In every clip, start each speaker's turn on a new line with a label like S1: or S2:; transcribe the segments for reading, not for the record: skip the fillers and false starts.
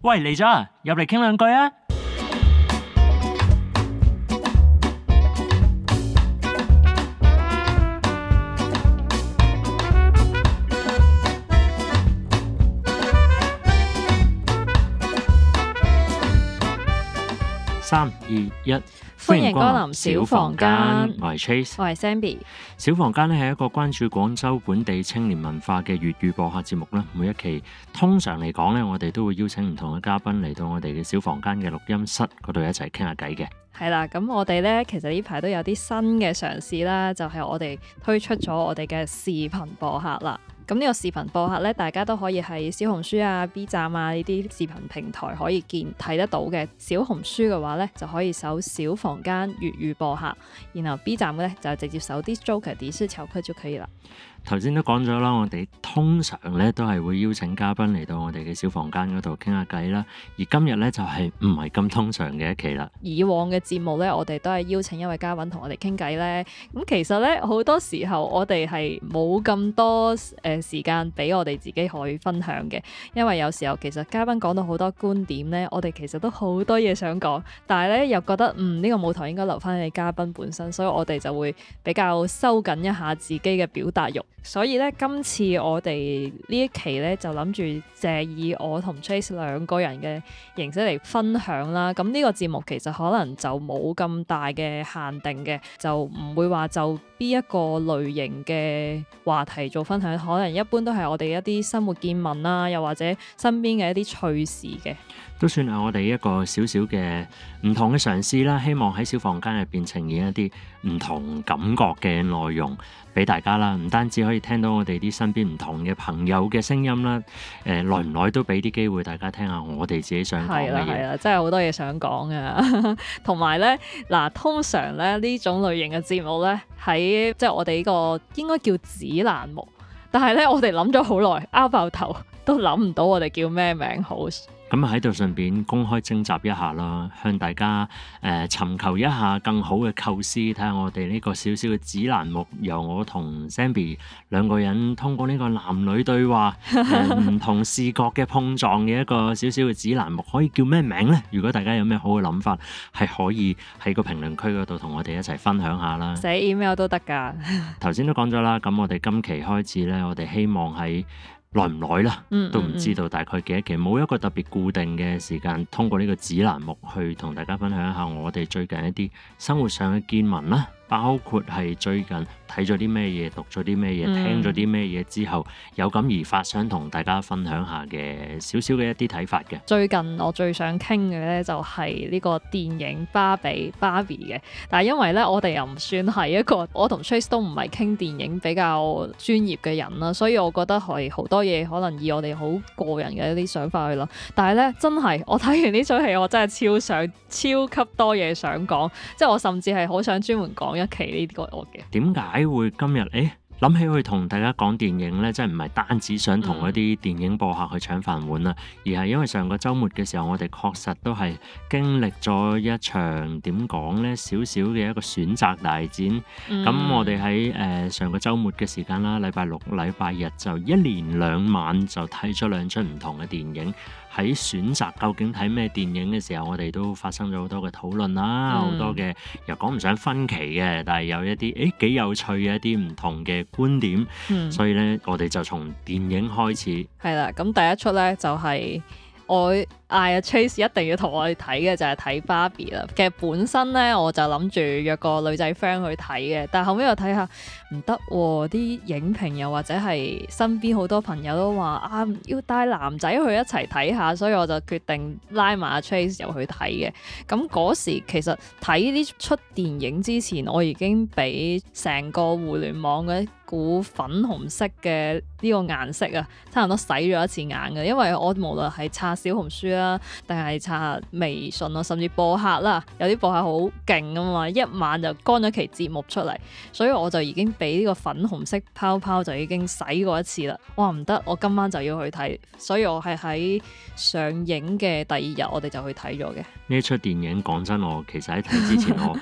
S1: 喂，嚟咗啊，入嚟傾兩句啊！3、2、1，
S2: 歡迎光臨小房間。
S1: 我係 Trace，
S2: 我係 Zenbi。
S1: 小房間咧係一個關注廣州本地青年文化嘅粵語播客節目啦。每一期通常嚟講咧，我哋都會邀請唔同嘅嘉賓嚟到我哋嘅小房間嘅錄音室嗰度一齊傾下偈嘅。
S2: 係啦，咁我哋咧其實呢排都有啲新嘅嘗試啦，就係我哋推出咗我哋嘅視頻播客啦。咁呢個視頻播客咧，大家都可以喺小紅書啊、B 站啊呢啲視頻平台可以睇得到嘅。小紅書嘅話咧，就可以搜小房間粵語播客，然後 B 站嘅咧就直接搜啲 Joker 啲書潮區就可以啦。
S1: 頭先都講咗啦，我哋通常咧都係會邀請嘉賓嚟到我哋嘅小房間嗰度傾下偈啦。而今日咧就係唔係咁通常嘅一期啦。以
S2: 往嘅節目咧，我哋都係邀請一位嘉賓同我哋傾偈咧。咁其實咧好多時候我哋係冇咁多時間俾我哋自己可以分享嘅，因為有時候其實嘉賓講到好多觀點咧，我哋其實都好多嘢想講，但係咧又覺得呢個舞台應該留翻俾嘉賓本身，所以我哋就會比較收緊一下自己嘅表達欲。所以咧，今次我哋呢一期咧就諗住借以我同 Trace 兩個人嘅形式嚟分享啦。咁呢個節目其實可能就冇咁大嘅限定嘅，就唔會話就邊一個類型嘅話題做分享，可能一般都係我哋一啲生活見聞啦，又或者身邊嘅一啲趣事嘅。
S1: 都算係我哋一個少少嘅唔同嘅嘗試啦，希望喺小房間入邊呈現一啲唔同感覺嘅內容俾大家啦。唔單止可以聽到我哋啲身邊唔同嘅朋友嘅聲音啦，耐唔耐都俾啲機會大家聽下我哋自己想講嘅嘢。係啦，
S2: 真係好多嘢想講啊！同埋咧，嗱，通常咧呢種類型嘅節目咧，喺即係我哋呢個應該叫指南目，但係咧我哋諗咗好耐，拗爆頭都諗唔到我哋叫咩名好。
S1: 咁喺度順便公開徵集一下啦，向大家尋求一下更好嘅構思，睇下我哋呢個小小嘅指南目，由我同 Zenbi 兩個人通過呢個男女對話，唔同視覺嘅碰撞嘅一個小小嘅指南目，可以叫咩名呢？如果大家有咩好嘅諗法，係可以喺個評論區嗰度同我哋一齊分享下啦。
S2: 寫 email 都得㗎。
S1: 頭先都講咗啦，咁我哋今期開始呢，我哋希望喺耐唔耐啦，都唔知道大概幾多期，冇一個特別固定嘅時間，通過呢個指南目去同大家分享一下我哋最近一啲生活上嘅見聞啦，包括係最近睇咗啲咩嘢，讀咗啲咩嘢，聽咗啲咩嘢之後有感而發，想同大家分享下嘅少少嘅一啲睇法嘅。最近
S2: 我最想傾嘅咧就係呢個電影芭比嘅，但係因為咧我哋又唔算係一個，我同 Trace 都唔係傾電影比較專業嘅人啦，所以我覺得係好多嘢可能以我哋好個人嘅一啲想法去諗。但係咧真係我睇完呢出戲，我真係超級多嘢想講，即係我甚至係好想專門講一期呢個我嘅。
S1: 點解會今日諗起去同大家講電影呢？真係唔係單止想同一啲電影播客去搶飯碗啦，而係因為上個週末嘅時候，我哋確實都係經歷咗一場點講呢，少少嘅一個選擇大戰。咁我哋喺上個週末嘅時間啦，禮拜六、禮拜日就一連兩晚就睇咗兩出唔同嘅電影。喺選擇究竟睇咩電影嘅時候，我哋都發生咗好多嘅討論啦，好多嘅又講唔上分歧嘅，但係有一啲幾有趣嘅一啲唔同嘅觀點。所以咧我哋就從電影開始。
S2: 係啦，咁第一出咧就係我嗌阿 Trace 一定要同我哋睇嘅就係睇芭比啦。其實本身咧我就諗住約個女仔 friend 去睇嘅，但係後尾又睇下唔得喎，啲影評又或者係身邊好多朋友都話啊要帶男仔去一齊睇下，所以我就決定拉埋阿 Trace 入去睇嘅。咁嗰時其實睇呢出電影之前，我已經俾成個互聯網嘅股粉紅色嘅呢個顏色啊，差唔多洗咗一次眼嘅，因為我無論係刷小紅書啦，定係刷微信啊，甚至播客啦，有啲播客好勁啊嘛，一晚就乾咗期節目出嚟，所以我就已經俾呢個粉紅色泡泡就已經洗過一次啦。哇，唔得，我今晚就要去睇，所以我係喺上映嘅第二日我哋就去睇咗嘅。
S1: 呢出電影講真，我其實喺睇之前我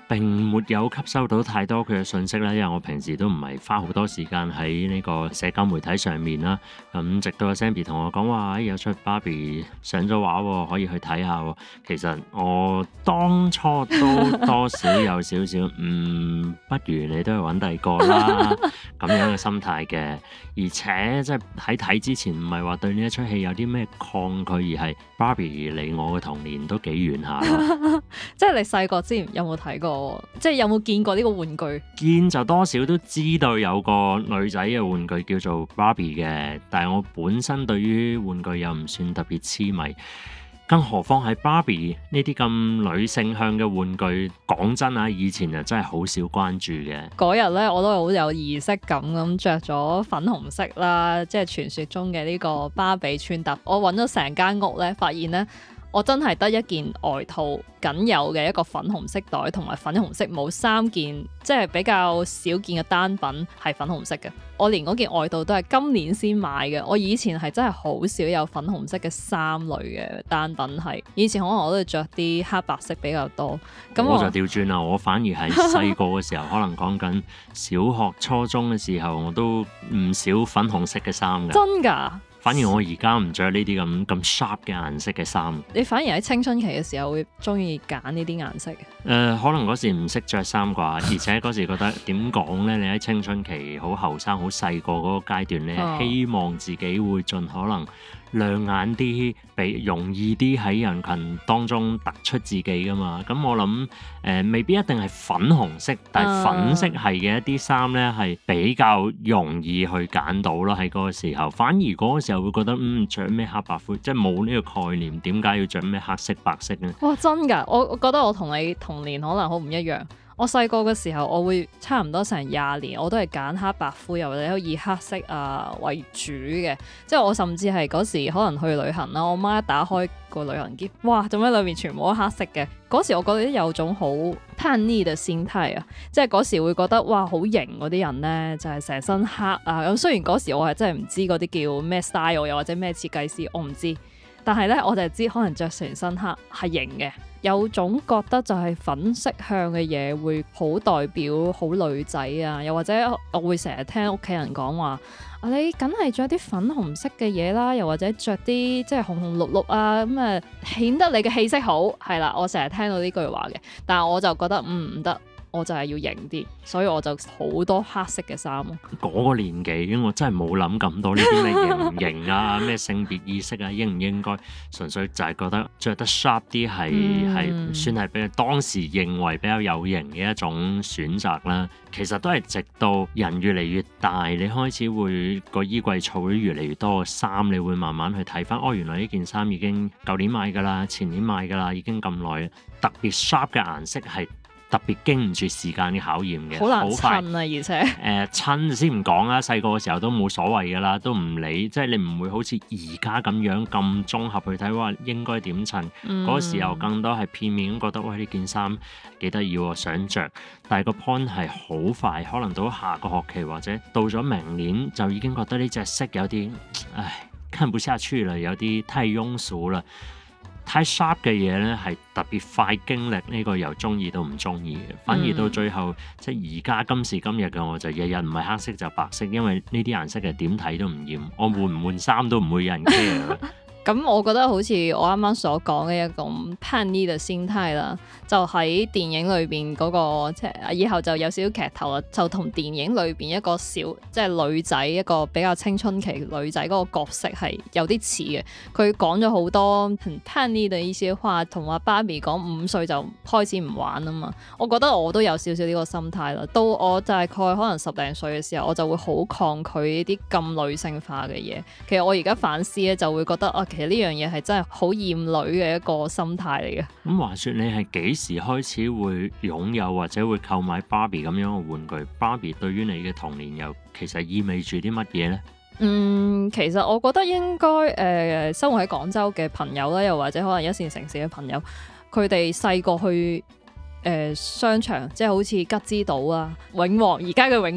S1: 並沒有吸收到太多佢嘅信息啦，因為我平時都唔係花好多時間喺呢個社交媒體上面啦。咁直到阿 Zenbi 同我講話，有出 Barbie 上咗畫喎，可以去睇下喎。其實我當初都多少有少少，不如你都去揾第二個啦咁樣嘅心態嘅。而且即係喺睇之前，唔係話對呢一出戲有啲咩抗拒，而係 Barbie 離我嘅童年都幾遠下咯。
S2: 即係你細個之前有冇睇過？即係有冇見過呢個玩具？
S1: 見就多少都知道有個女仔嘅玩具叫做 Barbie 嘅，但係我本身對於玩具又唔算特別痴迷，更何況係 Barbie 呢啲咁女性向嘅玩具。講真啊，以前就真係好少關注嘅。
S2: 嗰日咧，我都好有儀式感咁着咗粉紅色啦，即係傳說中嘅呢個芭比穿搭。我揾咗成間屋咧，發現咧，我真係得一件外套，僅有嘅一個粉紅色袋同埋粉紅色帽，3件即係比較少見嘅單品係粉紅色嘅。我連嗰件外套都係今年先買嘅。我以前係真係好少有粉紅色嘅衫類嘅單品，係以前可能我都係着啲黑白色比較多。咁
S1: 我就調轉啦，我反而係細個嘅時候，可能講緊小學、初中嘅時候，我都唔少粉紅色嘅衫㗎。
S2: 真㗎？
S1: 反而我而家唔着呢啲咁 sharp 嘅顏色嘅衫。
S2: 你反而喺青春期嘅時候會中意揀呢啲顏色？
S1: 可能嗰時唔識着衫啩，而且嗰時覺得點講呢？你喺青春期好後生、好細個嗰個階段咧，希望自己會盡可能亮眼啲，比容易啲喺人群當中突出自己噶嘛。咁我諗未必一定係粉紅色，但係粉色係嘅一啲衫咧係比較容易去揀到咯。喺嗰個時候，反而嗰個時候會覺得着咩黑白灰，即係冇呢個概念，點解要着咩黑色白色呢？
S2: 哇，真㗎！我覺得我同你童年可能好唔一樣。我細個嘅時候，我會差唔多成20年，我都係揀黑白灰，又或者以黑色為主嘅。即係我甚至係嗰時可能去旅行啦，我媽一打開個旅行篋，哇！做咩裏面全部都黑色嘅？嗰時我覺得有種好叛逆嘅心態啊，即係嗰時會覺得哇好型嗰啲人咧，就係成身黑啊。咁雖然嗰時我係真係唔知嗰啲叫咩 style，又或者咩設計師，我唔知。但係咧，我就係知可能着成身黑係型嘅，有種覺得就係粉色向嘅嘢會好代表好女仔啊，又或者我會成日聽屋企人講話，你梗係着啲粉紅色嘅嘢啦，又或者着啲即係紅紅綠綠啊，咁啊顯得你嘅氣色好，係啦，我成日聽到呢句話嘅，但係我就覺得唔得。我就係要型啲，所以我就好多黑色嘅衫咯。嗰
S1: 個年紀我真係冇諗咁多呢啲咩型唔型啊，咩性別意識啊，應唔應該，純粹就係覺得着得 sharp 啲係算係比當時認為比較有型嘅一種選擇啦。其實都係直到人越嚟越大，你開始會個衣櫃儲咗越嚟越多嘅衫，你會慢慢去睇翻，原來呢件衫已經舊年買㗎啦，前年買㗎啦，已經咁耐，特別 sharp 嘅顏色係特別經唔住時間嘅考驗嘅，
S2: 好難襯啊！而且
S1: 襯先唔講啦，細個嘅時候都冇所謂㗎啦，都唔理，即係你唔會好似而家咁樣咁綜合去睇話應該點襯。嗰個時候更多係片面咁覺得，喂，呢件衫幾得意喎，想着。但係個 point 係好快，可能到下個學期或者到咗明年就已經覺得呢隻色有啲，看不下去啦，有啲太庸俗啦。太 sharp 嘅嘢咧，係特別快經歷呢個由中意到唔中意嘅，反而到最後即係而家今時今日嘅我就日日唔係黑色就白色，因為呢啲顏色係點睇都唔厭，我換唔換衫都唔會有人 care。咁
S2: 我覺得好似我啱啱所講嘅一種叛逆嘅心態啦，就喺電影裏邊嗰個即係以後就有少少劇透啦，就同電影裏邊一個小即係女仔一個比較青春期女仔嗰個角色係有啲似嘅。佢講咗好多叛逆嘅一些話，同話芭比講5歲就開始唔玩啊嘛。我覺得我都有少少呢個心態啦。到我大概可能10零歲嘅時候，我就會好抗拒呢啲咁女性化嘅嘢。其實我而家反思咧，就會覺得其實呢樣嘢係真係好厭女嘅一個心態嚟嘅。咁
S1: 話說你係幾時開始會擁有或者會購買芭比咁樣嘅玩具？芭比對於你嘅童年又其實意味住啲乜嘢呢？
S2: 其實我覺得應該生活喺廣州嘅朋友啦，又或者可能一線城市嘅朋友，佢哋細個去商場，即係好似吉之島啊、永旺而家嘅永旺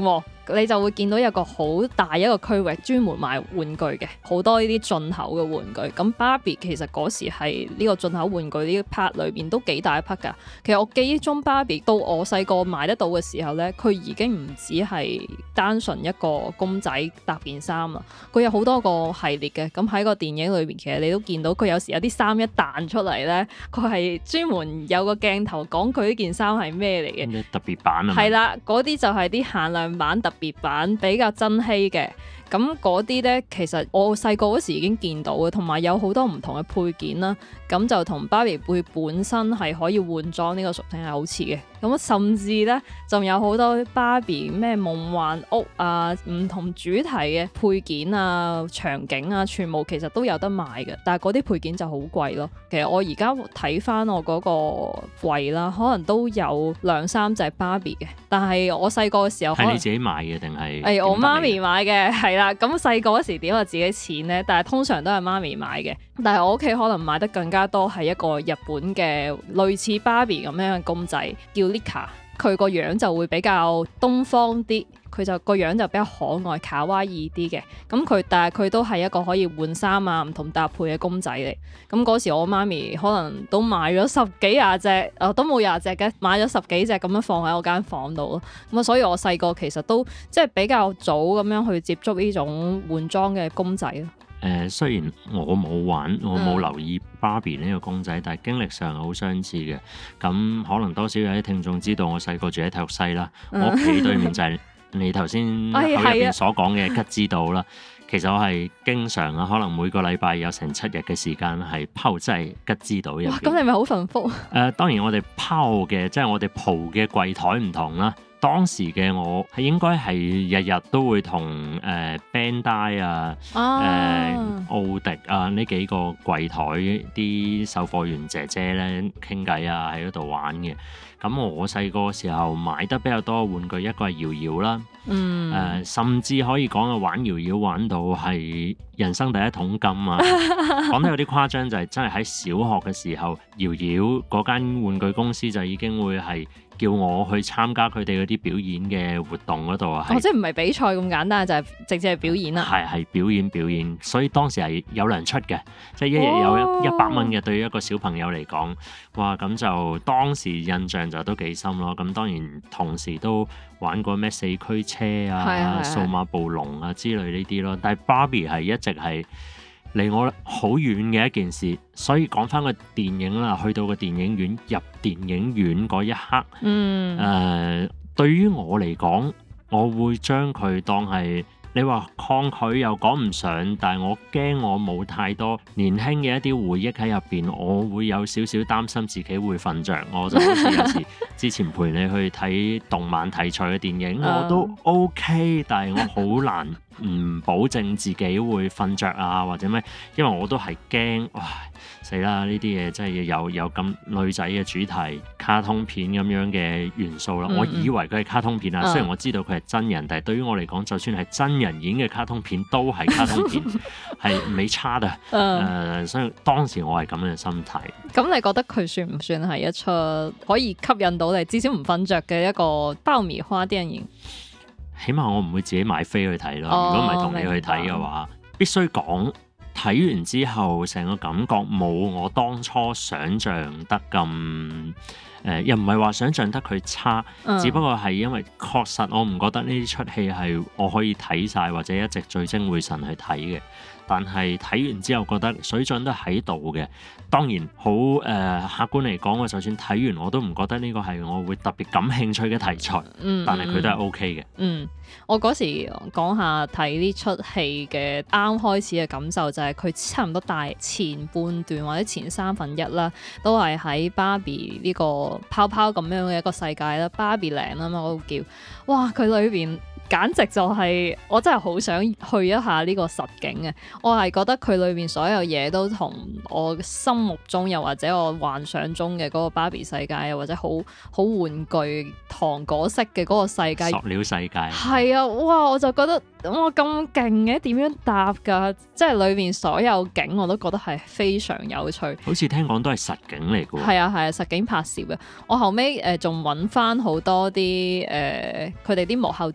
S2: 你就會見到有個好大一個區域專門賣玩具嘅，好多呢啲進口嘅玩具。咁芭比其實嗰時係呢個進口玩具呢 part 裏邊都幾大一 part 㗎。其實我記憶中芭比到我細個買得到嘅時候呢，佢已經唔止係單純一個公仔搭件衫啦，佢有好多個系列嘅。咁喺個電影裏邊，其實你都見到佢有時有啲衫一彈出嚟呢，佢係專門有個鏡頭講佢呢件衫係咩嚟嘅，
S1: 特別版啊，
S2: 係啦，嗰啲就係啲限量版、特別版，比較珍稀嘅。咁嗰啲呢，其實我細個嗰時已經見到嘅，同埋有好多唔同嘅配件啦。咁就同芭比背本身係可以換裝呢個屬性係好似嘅。咁甚至呢，仲有好多芭比咩夢幻屋啊，唔同主題嘅配件啊、場景啊，全部其實都有得賣嘅。但係嗰啲配件就好貴咯。其實我而家睇翻我嗰個櫃啦，可能都有2-3隻芭比嘅。但係我細個嘅時候，
S1: 係你自己買嘅定係？
S2: 我媽咪買嘅，係啦。咁細個嗰時點有自己錢呢？但係通常都係媽咪買嘅。但係我屋企可能買得更加多係一個日本嘅類似芭比咁樣嘅公仔，叫 Lika。佢個樣就會比較東方啲，佢就個樣就比較可愛卡哇伊啲嘅。但係佢都係一個可以換衫啊、唔同搭配嘅公仔嚟。咁嗰時我媽咪可能都買咗10幾廿隻，都冇廿隻嘅，買咗10幾隻咁樣放喺我間房度咯。咁所以我細個其實都即係比較早咁樣去接觸呢種換裝嘅公仔咯。
S1: 雖然我冇玩，我冇留意芭比呢個公仔，但係經歷上係好相似嘅。咁可能多少有啲聽眾知道我細個住喺體育西啦，我屋企對面就係你頭先口入邊所講嘅吉之島啦。其實我係經常啊，可能每個禮拜有成7日嘅時間係泡喺吉之島入邊。
S2: 咁你咪好幸福？
S1: 當然我哋泡嘅即係我哋蒲嘅櫃台唔同啦。當時嘅我係應該係日日都會同Bandai 啊、奧迪啊呢幾個櫃台啲售貨員姐姐咧傾偈啊，喺嗰度玩嘅。咁我細個時候買得比較多嘅玩具，一個係搖搖啦，甚至可以講啊玩搖搖玩到係人生第一桶金啊！講得有啲誇張，就係真係喺小學嘅時候，搖搖嗰間玩具公司就已經會係叫我去參加佢哋嗰啲表演嘅活動嗰度啊！
S2: 即係唔係比賽咁簡單，就係直接係表演啦。
S1: 係表演，所以當時係有糧出嘅，即係一日有100蚊嘅，對於一個小朋友嚟講，哇！咁就當時印象就都幾深咯。咁當然同時都玩過咩4驅車啊、數碼暴龍啊之類呢啲咯。但係芭比係一直係離我好遠嘅一件事，所以講翻個電影啦，去到個電影院入電影院嗰一刻，對於我嚟講，我會將佢當係你話抗拒又講唔上，但係我驚我冇太多年輕嘅一啲回憶喺入邊，我會有少少擔心自己會瞓着。我就好似有時之前陪你去睇動漫題材嘅電影，我都 OK， 但係我好難唔保證自己會瞓着啊或者咩，因為我都係驚，哇死啦！呢啲嘢真係有咁女仔嘅主題卡通片咁樣嘅元素啦。我以為佢係卡通片啊，雖然我知道佢係真人，但係對於我嚟講，就算係真人演嘅卡通片都係卡通片，係沒差嘅。所以當時我係咁樣嘅心態。咁
S2: 你覺得佢算唔算係一出可以吸引到你，至少唔瞓着嘅一個爆米花電影？
S1: 起碼我唔會自己買飛去睇咯。如果唔係同你去睇嘅話，必須講睇完之後成個感覺冇我當初想像得咁又唔係話想像得佢差，只不過係因為確實我唔覺得呢啲出戲係我可以睇晒或者一直聚精會神去睇嘅。但係睇完之後覺得水準都喺度嘅。當然好客觀嚟講，我就算睇完我都唔覺得呢個係我會特別感興趣嘅題材，但係佢都係 OK 嘅。
S2: 我嗰時講下睇呢出戲嘅啱開始嘅感受就係佢差唔多大前半段或者前1/3啦，都係喺芭比呢個泡泡咁樣嘅一個世界啦，芭比靚啊嘛，我都叫哇佢裏邊。簡直就係、我真係好想去一下呢個實景嘅，我係覺得佢裏面所有嘢都同我心目中又或者我幻想中嘅嗰個芭比世界，又或者好玩具糖果式嘅嗰個世界，
S1: 塑料世界
S2: 係啊，哇！我就覺得哇咁勁嘅，點樣搭㗎？即係裏面所有景我都覺得係非常有趣。
S1: 好似聽講都係實景嚟㗎喎。
S2: 係啊，實景拍攝嘅。我後尾仲揾翻好多啲佢哋啲幕後資料。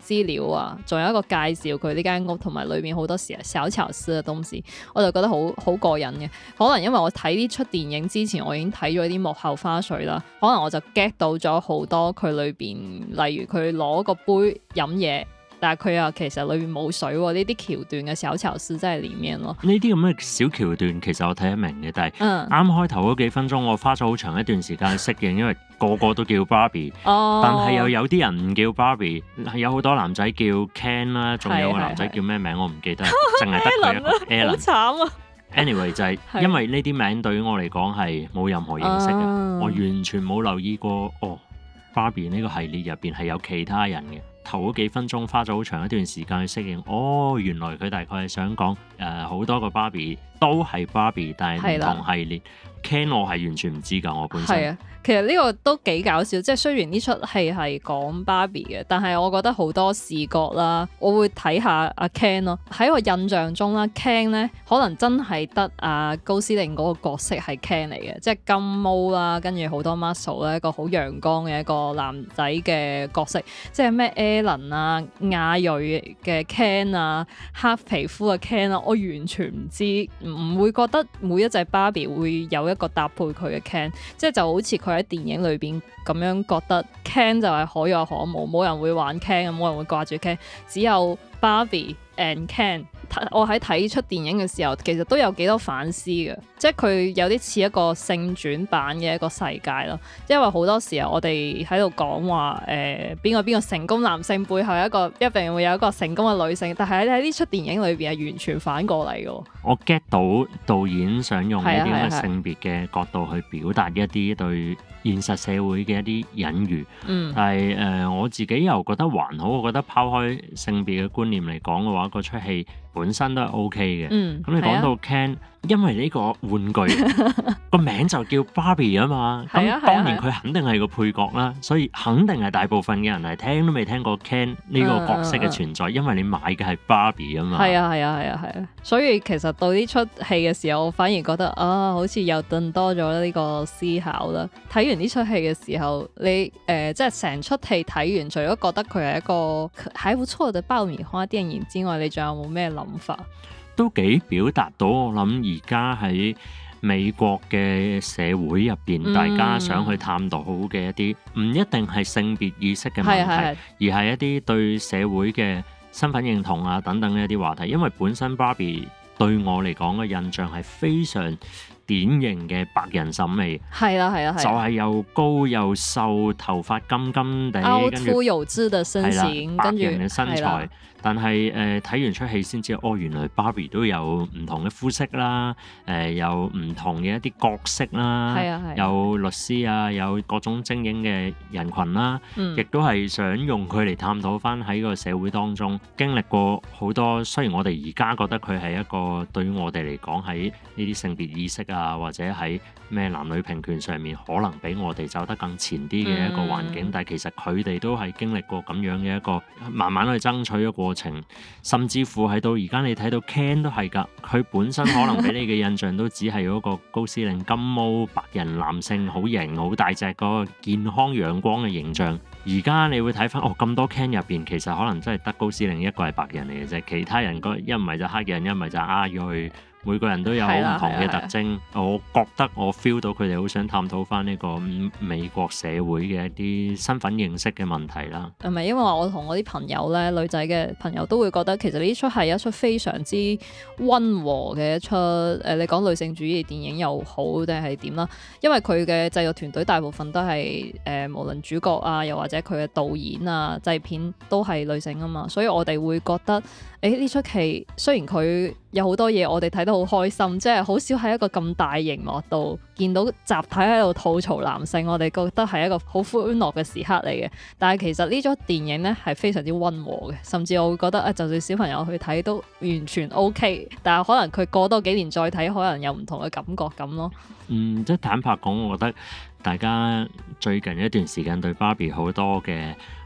S2: 料啊，仲有一個介紹佢呢間屋同埋裏面好多時小巧思嘅東西，我就覺得好過癮嘅。可能因為我睇呢出電影之前，我已經睇咗啲幕後花絮啦，可能我就 get 到咗好多佢裏邊，例如佢攞個杯飲嘢。但係佢又其實裏面冇水喎，呢啲橋段嘅小巧思真係裡面咯。
S1: 呢啲咁嘅小橋段其實我睇得明嘅，但係啱開頭嗰幾分鐘我花咗好長一段時間去適應，因為個個都叫 Barbie，但係又有啲人唔叫 Barbie， 有好多男仔叫 Ken 啦，仲有個男仔叫咩名我唔記得，淨係得佢一個 Alan。好
S2: 慘啊
S1: ！Anyway 就係因為呢啲名對於我嚟講係冇任何認識嘅，我完全冇留意過Barbie 呢個系列入邊係有其他人嘅。頭嗰幾分鐘花咗好長一段時間去適應，原來佢大概係想講好多個 Barbie 都係 Barbie， 但係唔同系列。Ken 我係完全唔知㗎，我本身。係啊，
S2: 其實呢個都幾搞笑，即係雖然呢出戲係講 Barbie 嘅，但係我覺得好多視覺啦，我會睇下阿 Ken 咯。喺我印象中啦，Ken 咧可能真係得阿高司令嗰個角色係 Ken 嚟嘅，即係金毛啦，跟住好多 muscle 咧，一個好陽光嘅一個男仔嘅角色，即係咩 Alan 啊、亞裔嘅 Ken 啊、黑皮膚嘅 Ken 啊，我完全唔知，唔會覺得每一隻 Barbie 會有一個搭配佢嘅 Ken， 即係就好似佢喺電影裏邊咁樣覺得 Ken 就係可有可無，冇人會玩 Ken， 冇人會掛住 Ken， 只有 Barbie and Ken。我喺睇出電影嘅時候，其實都有幾多反思嘅，即係佢有啲似一個性轉版嘅一個世界咯。因為好多時候我哋喺度講話邊個成功男性背後一定會有一個成功嘅女性，但係喺呢出電影裏邊係完全反過嚟嘅。
S1: 我 get 到導演想用呢啲咁嘅性別嘅角度去表達一啲對現實社會嘅一啲隱喻，但係我自己又覺得還好，我覺得拋開性別嘅觀念嚟講嘅話，嗰出戲本身都係 OK 嘅。咁你講到 Ken，因為呢個玩具個名就叫 Barbie 啊嘛，咁當然佢肯定係個配角啦，所以肯定係大部分嘅人係聽都未聽過 Ken 呢個角色嘅存在，因為你買嘅係 Barbie 啊嘛。係
S2: 啊，所以其實到呢出戲嘅時候，我反而覺得好似又更多咗呢個思考啦。睇完呢出戲嘅時候，你即係成出戲睇完，除咗覺得佢係一個還不錯嘅爆米花電影之外，你仲有冇咩諗法？
S1: 都幾表達到我諗而家喺美國嘅社會入邊，大家想去探討嘅一啲唔一定係性別意識嘅問題，而係一啲對社會嘅身份認同啊等等嘅一啲話題。因為本身 Barbie 對我嚟講嘅印象係非常典型嘅白人審美，係啦，就係又高又瘦，頭髮金金地，
S2: 凹凸有致嘅身形，
S1: 白人嘅身材。但係睇完出戲先知，原來 Barbie 都有唔同嘅膚色啦，有唔同嘅一啲角色啦，有律師啊，有各種精英嘅人群啦，亦都係想用佢嚟探討翻喺個社會當中經歷過好多。雖然我哋而家覺得佢係一個對於我哋嚟講喺呢啲性別意識啊，或者喺咩男女平權上面可能比我哋走得更前啲嘅一個環境，但係其實佢哋都係經歷過咁樣嘅一個慢慢去爭取嘅過程，甚至乎係到而家你睇到 Ken 都係㗎，佢本身可能俾你嘅印象都只係嗰個高司令金毛白人男性，好型好大隻嗰個健康陽光嘅形象。而家你會睇翻咁多 Ken 入邊，其實可能真係得高司令一個係白人嚟嘅啫，其他人一唔係就黑人，一唔係就亞裔。每個人都有好唔同嘅特徵，我覺得我 feel 到佢哋好想探討翻呢個美國社會嘅一啲身份認識嘅問題啦。
S2: 係咪因為我同我啲朋友咧，女仔嘅朋友都會覺得其實呢出係一出非常之溫和嘅一出你講女性主義電影又好定係點啦？因為佢嘅製作團隊大部分都係無論主角啊，又或者佢嘅導演啊、製片都係女性啊嘛，所以我哋會覺得呢出戲雖然佢有好多嘢我哋睇得好開心，即係好少喺一個咁大熒幕度見到集體喺度吐槽男性，我哋覺得係一個好歡樂嘅時刻嚟嘅。但係其實呢出電影呢係非常之溫和嘅，甚至我會覺得就算小朋友去睇都完全 OK。但係可能佢過多幾年再睇，可能有唔同嘅感覺咁咯。
S1: 即係坦白講，我覺得大家最近一段時間對 Barbie 好多嘅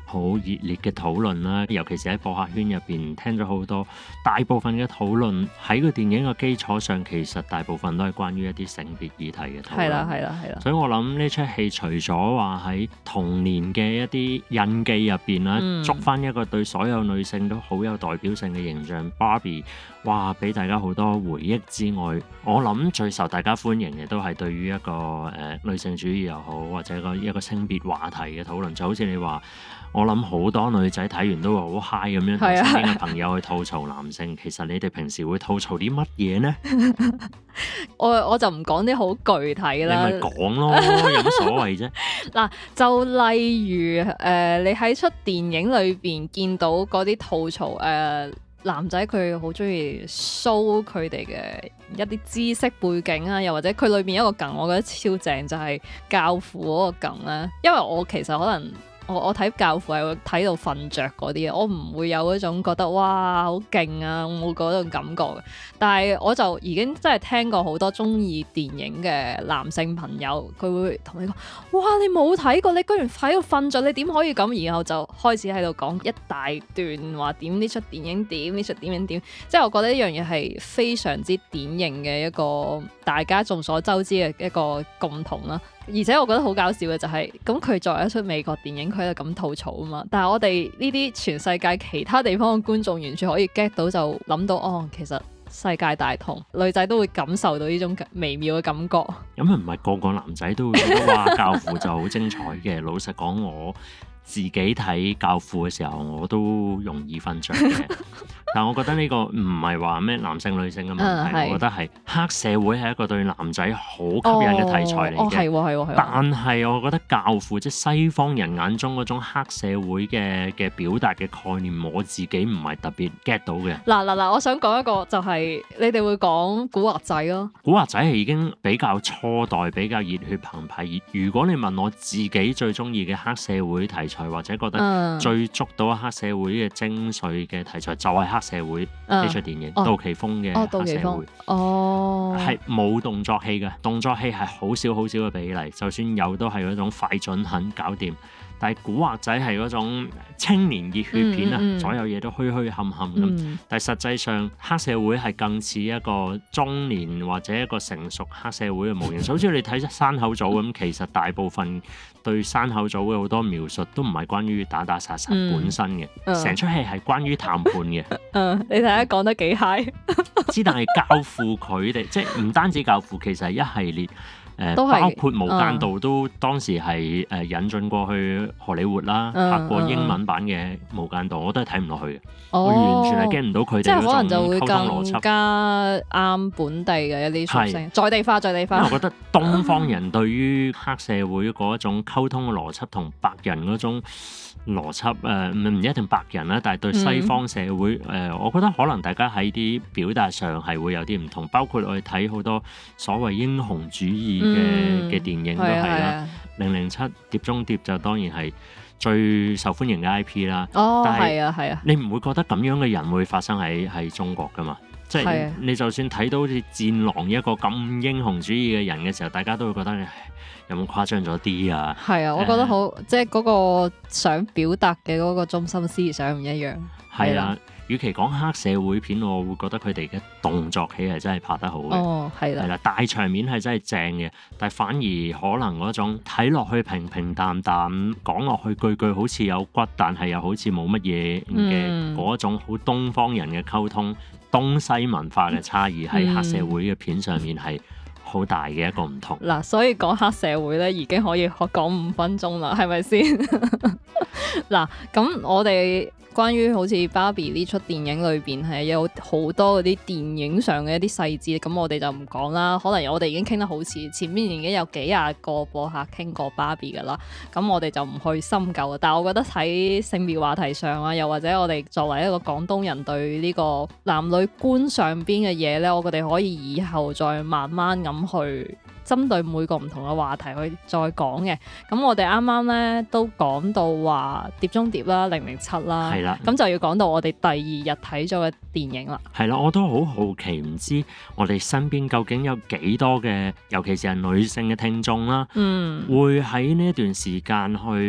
S1: 好熱烈嘅討論啦，尤其是喺播客圈入邊聽咗好多，大部分嘅討論喺個電影嘅基礎上，其實大部分都係關於一啲性別議題嘅討論。
S2: 係啦，係啦，係啦。
S1: 所以我諗呢出戲除咗話喺童年嘅一啲印記入邊啦，捉翻一個對所有女性都好有代表性嘅形象 Barbie， 哇！俾大家好多回憶之外，我諗最受大家歡迎嘅都係對於一個女性主義又好，或者一個性別話題嘅討論，就好似你話。我諗好多女仔睇完都會好 high 咁樣同身邊嘅朋友去吐槽男性。其實你哋平時會吐槽啲乜嘢呢？
S2: 我就唔講啲好具體啦。
S1: 你咪講咯，有乜所謂啫？
S2: 嗱，就例如你喺出電影裏邊見到嗰啲吐槽男仔佢好中意 show 佢哋嘅一啲知識背景啊，又或者佢裏邊一個梗，我覺得超正，就係教父嗰個梗咧。因為我其實可能。我睇教父係會睇到瞓着嗰啲嘅，我唔會有嗰種覺得哇好勁啊，冇嗰種感覺嘅。但係我就已經真係聽過好多中意電影嘅男性朋友，佢會同你講：哇，你冇睇過，你居然喺度瞓着，你點可以咁？然後就開始喺度講一大段話點呢出電影點呢出電影點。即係我覺得呢樣嘢係非常之典型嘅一個大家眾所周知嘅一個共同啦。而且我覺得好搞笑嘅就係，咁佢作為一出美國電影，佢喺度咁吐槽啊嘛。但係我哋呢啲全世界其他地方嘅觀眾，完全可以 get 到，就諗到哦，其實世界大同，女仔都會感受到呢種微妙嘅感覺。
S1: 咁唔係個個男仔都會覺得哇教父就好精彩嘅。老實講，我自己睇教父嘅時候，我都容易瞓着嘅。但我覺得呢個唔係話咩男性女性嘅問題，我覺得係黑社會係一個對男仔好吸引嘅題材嚟嘅。
S2: 係
S1: 但係我覺得教父即係西方人眼中嗰種黑社會嘅表達嘅概念，我自己唔係特別 get 到嘅。
S2: 嗱，我想講一個就係你哋會講古惑仔咯。
S1: 古惑仔係已經比較初代，比較熱血澎湃。如果你問我自己最中意嘅黑社會題材，或者覺得最捉到黑社會嘅精髓嘅題材，就係黑社會呢出電影，杜琪峰嘅黑社會，係冇動作戲嘅，動作戲係好少嘅比例，就算有都係嗰種快準狠搞掂。但係古惑仔係嗰種青年熱血片啊，所有嘢都虛冚冚咁。但係實際上黑社會係更似一個中年或者一個成熟黑社會嘅模型。就好似你睇山口組咁，其實大部分對山口組嘅好多描述都唔係關於打打殺殺本身嘅，成出戲係關於談判嘅。
S2: 你睇下講得幾 high？
S1: 之但係教父佢哋即係唔單止教父，其實係一系列。包括無間道都當時係引進過去荷里活啦，拍過英文版嘅無間道，我都係睇唔落去嘅。我完全係 get 唔到佢哋嗰種溝通邏輯。即係可能就會
S2: 更加啱本地嘅一啲屬性，在地化。因為
S1: 我覺得東方人對於黑社會嗰一種溝通嘅邏輯同白人嗰種邏輯唔一定白人啦，但係對西方社會我覺得可能大家喺啲表達上係會有啲唔同。包括我哋睇好多所謂英雄主義嘅電影都係啦，007碟中諜就當然係最受歡迎嘅 IP 啦。但係你唔會覺得咁樣嘅人會發生喺中國㗎嘛？即係你就算睇到好似戰狼一個咁英雄主義嘅人嘅時候，大家都會覺得有冇誇張咗啲啊？係啊，
S2: 我覺得好即係嗰個想表達嘅嗰個中心思想唔一樣。
S1: 係啦。與其講黑社會片，我會覺得佢哋嘅動作戲係真係拍得好嘅，係啦，大場面係真係正嘅，但係反而可能嗰種睇落去平平淡淡，講落去句句好似有骨，但係又好似冇乜嘢嘅嗰種好東方人嘅溝通，東西文化嘅差異喺黑社會嘅片上面係好大嘅一個唔同。
S2: 嗱，所以講黑社會咧已經可以講5分鐘啦，係咪先？嗱，咁我哋關於好似 Barbie 呢出電影裏邊係有好多嗰啲電影上嘅一啲細節，咁我哋就唔講啦。可能我哋已經傾得好似前面已經有幾廿個播客傾過 Barbie 噶啦，咁我哋就唔去深究啦。但係我覺得喺性別話題上啊，又或者我哋作為一個廣東人對呢個男女觀上邊嘅嘢咧，我哋可以以後再慢慢咁去針對每個唔同嘅話題去再講嘅。咁我哋啱啱咧都講到話碟中諜啦、007啦，係啦，咁就要講到我哋第二日睇咗嘅電影啦。
S1: 係啦，我都好好奇，唔知我哋身邊究竟有幾多嘅，尤其是係女性嘅聽眾啦，會喺呢一段時間去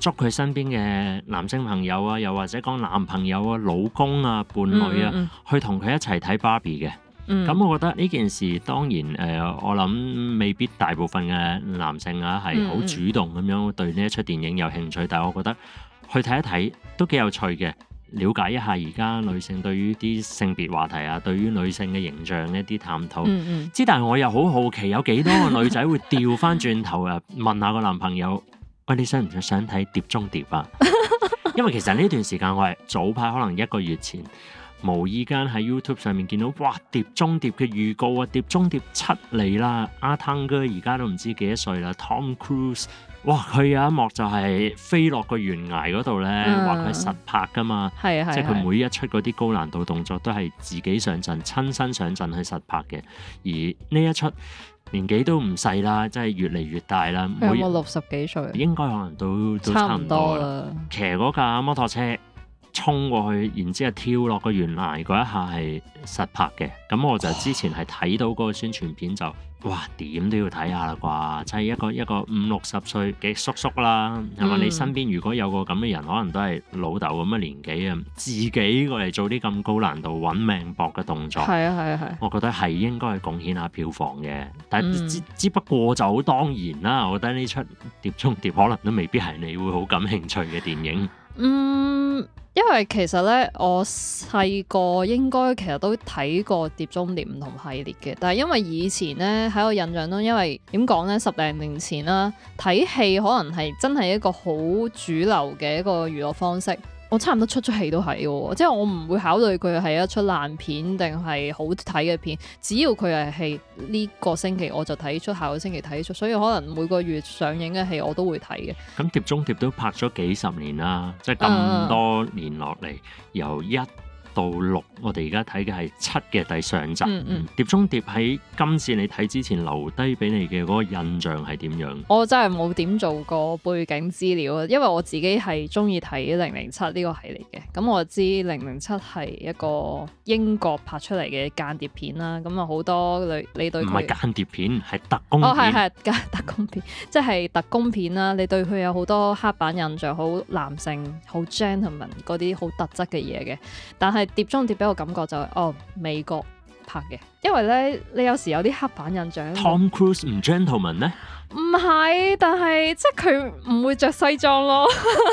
S1: 捉佢身邊嘅男性朋友啊，又或者講男朋友啊、老公啊、伴侶啊，去同佢一齊睇 Barbie 嘅。咁我覺得呢件事當然我諗未必大部分嘅男性啊係好主動咁樣對呢一出電影有興趣，但係我覺得去睇一睇都幾有趣嘅，了解一下而家女性對於啲性別話題啊，對於女性嘅形象一啲探討。但係我又好好奇，有幾多個女仔會調翻轉頭問下個男朋友，喂，你想唔想睇碟中諜啊？因為其實呢段時間我係早排可能1個月前，無意間喺 YouTube 上面見到，哇！碟中諜嘅預告啊，碟中諜7嚟啦，阿湯哥而家都唔知幾多歲啦 ，Tom Cruise， 哇！佢有一幕就係飛落個懸崖嗰度咧，話佢係實拍噶嘛，即係佢每一出嗰啲高難度動作都係自己上陣，親身上陣去實拍嘅。而呢一出年紀都唔細啦，真係越嚟越大啦。
S2: 有冇60幾歲？
S1: 應該可能都差唔多啦。騎嗰架摩托車衝過去，然之後跳落個懸崖嗰一下係實拍嘅。咁我就之前係睇到嗰個宣傳片就，哇，點都要睇下啦啩！即係一個50-60歲嘅叔叔啦，係嘛？你身邊如果有個咁嘅人，可能都係老豆咁嘅年紀啊，自己過嚟做啲咁高難度揾命搏嘅動作，我覺得係應該係貢獻下票房嘅。但係只不過就好當然啦，我覺得呢出碟中諜可能都未必係你會好感興趣嘅電影。
S2: 因為其實咧，我細個應該其實都睇過碟中諜唔同系列嘅，但係因為以前咧喺我印象中，因為點講咧，10零年前啦，睇戲可能係真係一個好主流嘅一個娛樂方式。我差唔多出戲都係喎，即係我唔會考慮佢係一出爛片定係好睇嘅片，只要佢係戲呢個星期我就睇出，下個星期睇出，所以可能每個月上映嘅戲我都會睇嘅。
S1: 咁碟中諜都拍咗幾十年啦，即係咁多年落嚟，由1到6，我哋而家睇嘅係7嘅第上集。碟中諜喺今次你睇之前留低俾你嘅嗰個印象係點樣？
S2: 我真係冇點做過背景資料啊，因為我自己係中意睇007呢個系列嘅。咁我知007係一個英國拍出嚟嘅間諜片啦。咁啊好多你對佢
S1: 唔係間諜片，係特工片。
S2: 係特工片，即係特工片啦。你對佢有好多刻板印象，好男性、好 gentleman 嗰啲好特質嘅嘢嘅，但係碟中諜俾我感覺就係美國拍嘅，因為咧你有時有啲刻板印象。
S1: Tom Cruise 唔 gentleman 咧？
S2: 唔係，但係即係佢唔會着西裝咯。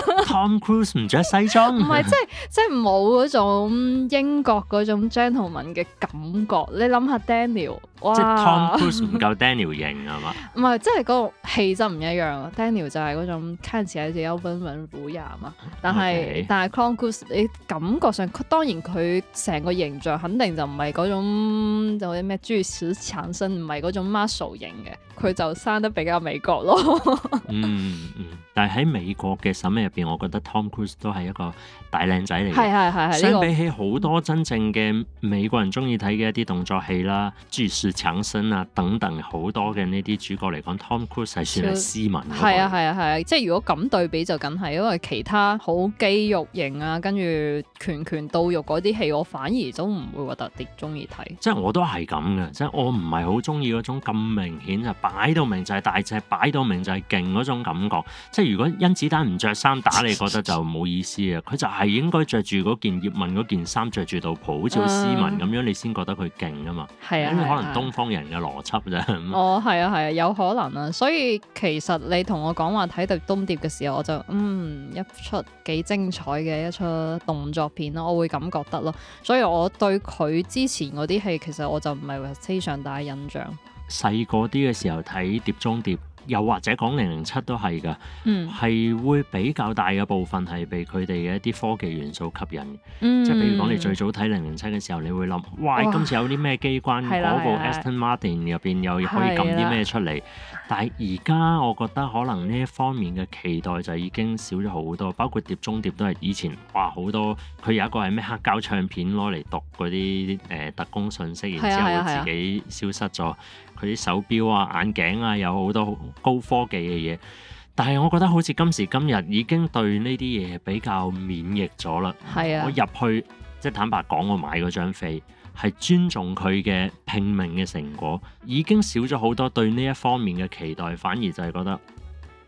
S1: Tom Cruise 唔着西裝？
S2: 唔係，即係冇嗰種英國嗰種 gentleman 嘅感覺。你諗下 Daniel， 哇！
S1: 即係 Tom Cruise 唔夠 Daniel 型係嘛？
S2: 唔係，即係嗰個氣質唔一樣。Daniel 就係嗰種看起來就有溫文儒雅嘛，但係 Tom Cruise 你感覺上，當然佢成個形象肯定就唔係嗰種就啲咩巨石強森，唔係嗰種 muscle 型嘅，佢就生得比較美國咯。
S1: 但係喺美國嘅審美入邊，我覺得 Tom Cruise 都係一個大靚仔嚟嘅。
S2: 係。
S1: 相比起好多真正嘅美國人中意睇嘅一啲動作戲啦，巨石強森啊等等好多嘅呢啲主角嚟講，Tom Cruise 係算係斯文嗰個。係，即係如果咁對比就梗係，因為其他好肌肉型啊，跟住拳到肉嗰啲戲，我反而都唔會話特別中意睇。 即係我都係咁嘅，即係我唔係好中意嗰種咁明顯就擺到明就係大隻，擺到明就係勁嗰種感覺。即係如果甄子丹唔着衫打你，覺得就冇意思啊！佢就係應該着住嗰件葉問嗰件衫，着住道袍，好似好斯文咁樣，你先覺得佢勁啊嘛。係啊，可能東方人嘅邏輯啫。係啊，有可能啊。所以其實你同我講話睇碟中諜嘅時候，我就一出幾精彩嘅一出動作片咯，我會咁覺得咯。所以我對佢之前嗰啲戲，其實我就唔係話非常大印象。細個啲嘅時候睇碟中諜，又或者講007都係㗎，係會比較大嘅部分係被佢哋嘅一啲科技元素吸引。即係譬如講你最早睇007嘅時候，你會諗，哇！今次有啲咩機關？嗰部 Aston Martin 入邊又可以撳啲咩出嚟？但係而家我覺得可能呢一方面嘅期待就已經少咗好多，包括碟中諜都係以前哇好多，佢有一個係咩黑膠唱片攞嚟讀嗰啲特工信息，然之後自己消失咗。佢啲手錶啊、眼鏡啊，有好多高科技嘅嘢。但係我覺得好似今時今日已經對呢啲嘢比較免疫咗啦。我入去即係坦白講，我買嗰張飛係尊重佢嘅拼命嘅成果，已經少咗好多對呢一方面嘅期待，反而就係覺得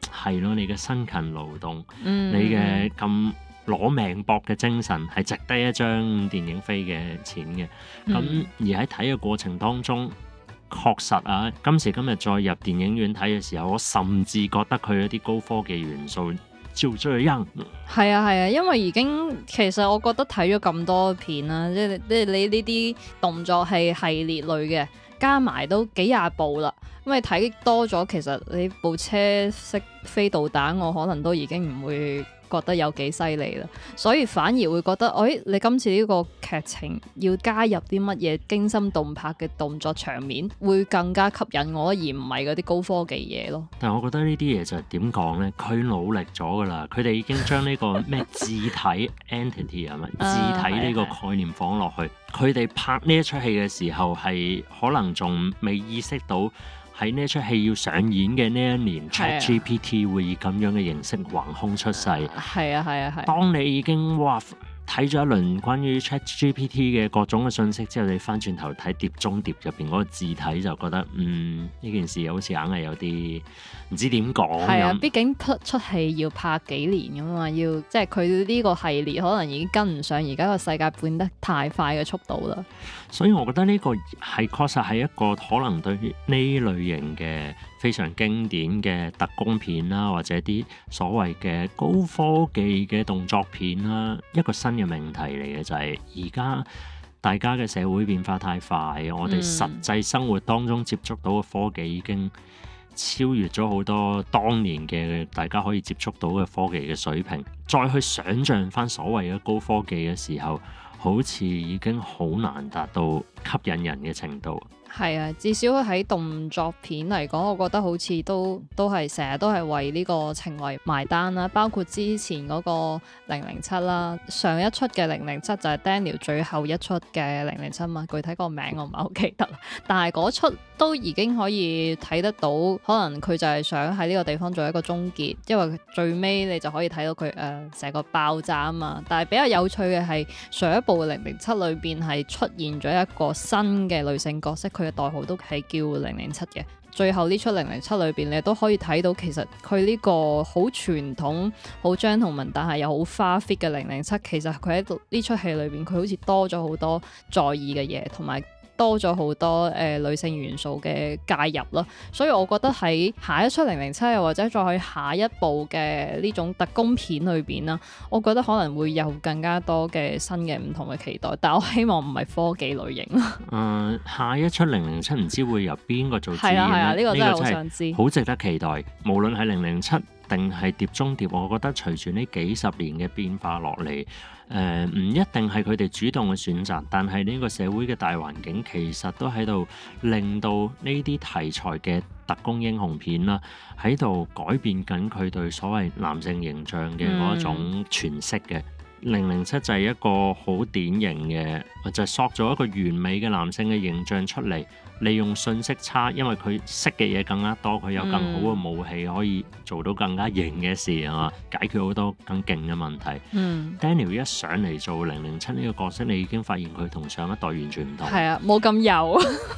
S1: 係咯，你嘅辛勤勞動，
S2: 嗯
S1: 你嘅咁攞命搏嘅精神係值得一張電影飛嘅錢嘅。咁而喺睇嘅過程當中，確實啊，今時今日再入電影院睇嘅時候，我甚至覺得佢有啲高科技元素就這樣。
S2: 係啊係啊，因為已經其實我覺得睇咗咁多片啦，即係你呢啲動作係系列類嘅，加埋都幾廿部啦。咁你睇多咗，其實你部車識飛導彈，我可能都已經唔會覺得有幾犀利啦，所以反而會覺得，你今次呢個劇情要加入啲乜嘢驚心動魄嘅動作場面，會更加吸引我，而唔係嗰啲高科技嘢咯。
S1: 但係我覺得呢啲嘢就係點講呢？佢努力咗噶啦，佢哋已經將呢個咩字體 entity 係咪字體呢個概念放落去。佢哋拍呢一出戲嘅時候係可能仲未意識到。喺呢出戲要上演嘅呢一年，ChatGPT 會以咁樣嘅形式橫空出世。
S2: 係啊係啊係。
S1: 當你已經睇咗一輪關於 ChatGPT 嘅各種嘅信息之後，你翻轉頭睇《碟中諜》入邊嗰個字體，就覺得呢件事好似硬係有啲唔知點講。係啊，
S2: 畢竟出戲要拍幾年㗎嘛，要即係佢呢個系列可能已經跟唔上而家個世界變得太快嘅速度啦。
S1: 所以我覺得呢個係確實係一個可能對於呢類型嘅非常經典嘅特工片啦，或者啲所謂嘅高科技嘅動作片啦，一個新嘅命題嚟嘅，就係而家大家嘅社會變化太快，我哋實際生活當中接觸到嘅科技已經超越咗好多當年嘅大家可以接觸到嘅科技嘅水平，再去想像翻所謂嘅高科技嘅時候，好似已經好難達到吸引人嘅程度。
S2: 係啊，至少喺動作片嚟講，我覺得好似都係成日都係為呢個情懷埋單啦。包括之前嗰個007啦，上一出嘅007就係 Daniel 最後一出嘅007嘛，具體個名我唔係好記得，但係嗰出都已經可以睇得到，可能佢就係想喺呢個地方做一個終結，因為最尾你就可以睇到佢成個爆炸啊嘛。但係比較有趣嘅係上一部007裏邊係出現咗一個新嘅女性角色。佢嘅代號都係叫007嘅。最後呢出007裏邊，你都可以睇到其實佢呢個好傳統、好 gentleman 但係又好花 fit 嘅007，其實佢喺呢出戲裏邊，佢好似多咗好多在意嘅嘢，同埋多咗好多女性元素嘅介入咯，所以我覺得喺下一出007又或者再去下一部嘅呢種特工片裏邊啦，我覺得可能會有更加多嘅新嘅唔同嘅期待，但我希望唔係科技類型。
S1: 下一出007唔知會由邊個做主演咧？
S2: 係啊，呢個真係好想知，
S1: 好值得期待。無論係007定係碟中諜，我覺得隨住呢幾十年嘅變化落嚟。唔一定係佢哋主動嘅選擇，但係呢個社會嘅大環境其實都喺度令到呢啲題材嘅特工英雄片啦，喺度改變緊佢對所謂男性形象嘅嗰一種詮釋嘅。007就係一個好典型嘅，就係塑造一個完美嘅男性嘅形象出嚟，利用信息差，因為佢識嘅嘢更加多，佢有更好嘅武器，可以做到更加型嘅事係嘛，解決好多更勁嘅問題。Daniel 一上嚟做007呢個角色，你已經發現佢同上一代完全唔同。係
S2: 啊，冇咁油。